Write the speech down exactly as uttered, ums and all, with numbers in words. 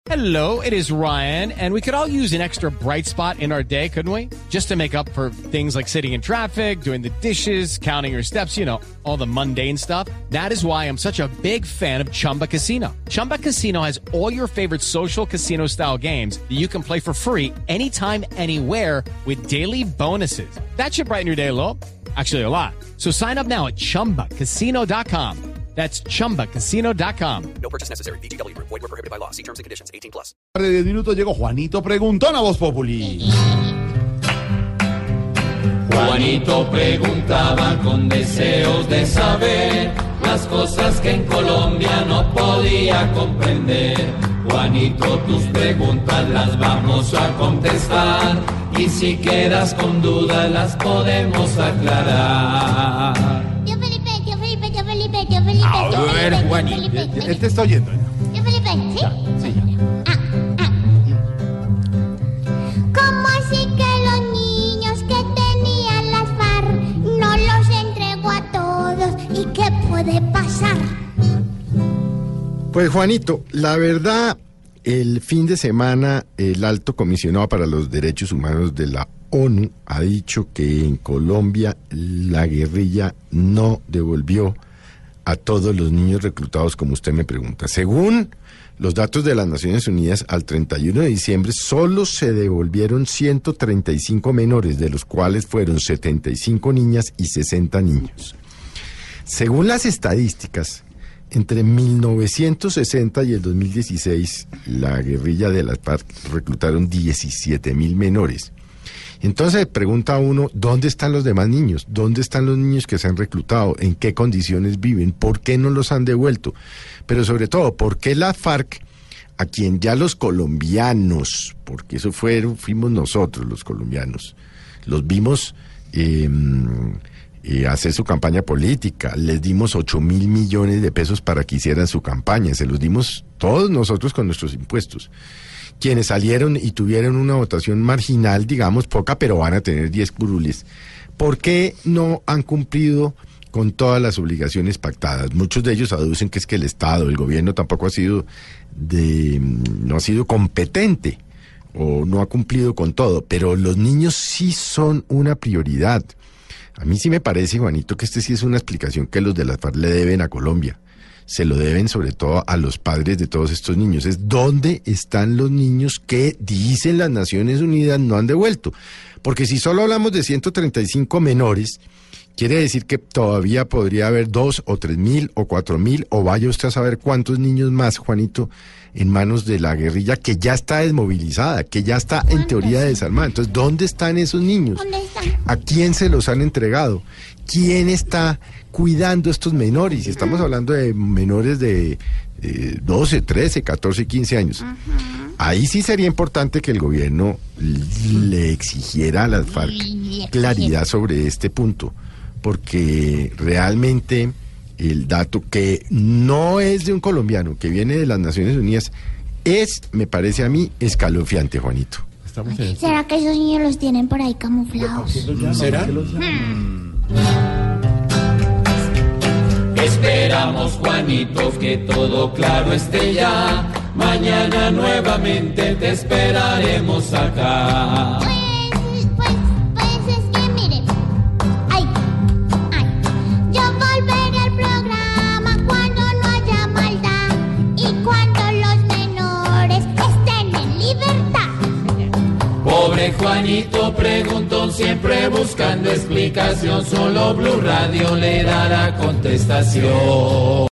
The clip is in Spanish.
Hello, it is Ryan, and we could all use an extra bright spot in our day, couldn't we? Just to make up for things like sitting in traffic, doing the dishes, counting your steps, you know, all the mundane stuff. That is why I'm such a big fan of Chumba Casino. Chumba Casino has all your favorite social casino-style games that you can play for free anytime, anywhere with daily bonuses. That should brighten your day a little. Actually, a lot. So sign up now at chumba casino dot com. That's chumba casino dot com. No purchase necessary. V G W Group. Void where prohibited by law. See terms and conditions. eighteen plus. De diez minutos llegó Juanito Preguntón a Voz Populi. Juanito preguntaba con deseos de saber las cosas que en Colombia no podía comprender. Juanito, tus preguntas las vamos a contestar y si quedas con dudas las podemos aclarar. Tío Felipe, tío Felipe, tío Felipe, tío Felipe. A tío ver, Felipe, Juanito, tío Felipe, él te está oyendo ya. Tío Felipe, ¿sí? Sí, ya. Ah, ah. ¿Cómo así que los niños que tenían las FARC no los entregó a todos? ¿Y qué puede pasar? Pues Juanito, la verdad, el fin de semana el Alto Comisionado para los Derechos Humanos de la ONU ha dicho que en Colombia la guerrilla no devolvió a todos los niños reclutados, como usted me pregunta. Según los datos de las Naciones Unidas, al treinta y uno de diciembre solo se devolvieron ciento treinta y cinco menores, de los cuales fueron setenta y cinco niñas y sesenta niños. Según las estadísticas, entre mil novecientos sesenta y el dos mil dieciséis, la guerrilla de las FARC reclutaron diecisiete mil menores. Entonces pregunta uno, ¿dónde están los demás niños? ¿Dónde están los niños que se han reclutado? ¿En qué condiciones viven? ¿Por qué no los han devuelto? Pero sobre todo, ¿por qué la FARC, a quien ya los colombianos, porque eso fueron, fuimos nosotros los colombianos, los vimos eh, eh, hacer su campaña política, les dimos ocho mil millones de pesos para que hicieran su campaña, se los dimos todos nosotros con nuestros impuestos. Quienes salieron y tuvieron una votación marginal, digamos, poca, pero van a tener diez curules. ¿Por qué no han cumplido con todas las obligaciones pactadas? Muchos de ellos aducen que es que el Estado, el gobierno tampoco ha sido de, no ha sido competente o no ha cumplido con todo, pero los niños sí son una prioridad. A mí sí me parece, Juanito, que este sí es una explicación que los de las FARC le deben a Colombia. Se lo deben sobre todo a los padres de todos estos niños. Es dónde están los niños que, dicen las Naciones Unidas, no han devuelto. Porque si solo hablamos de ciento treinta y cinco menores, quiere decir que todavía podría haber dos o tres mil o cuatro mil, o vaya usted a saber cuántos niños más, Juanito, en manos de la guerrilla que ya está desmovilizada, que ya está en teoría desarmada. Entonces, ¿dónde están esos niños? ¿Dónde están? ¿A quién se los han entregado? ¿Quién está cuidando a estos menores? Y estamos hablando de menores de eh, doce, trece, catorce, quince años. Uh-huh. Ahí sí sería importante que el gobierno le exigiera a las FARC claridad sobre este punto, porque realmente el dato que no es de un colombiano, que viene de las Naciones Unidas, es, me parece a mí, escalofriante, Juanito. ¿Será que esos niños los tienen por ahí camuflados? ¿Será? Hmm. Esperamos, Juanito, que todo claro esté ya. Mañana nuevamente te esperaremos acá. Pues, pues, pues es que miren. Ay, ay. Yo volveré al programa cuando no haya maldad y cuando los menores estén en libertad. Pobre Juanito preguntón, siempre buscando explicación. Solo Blue Radio le dará contestación.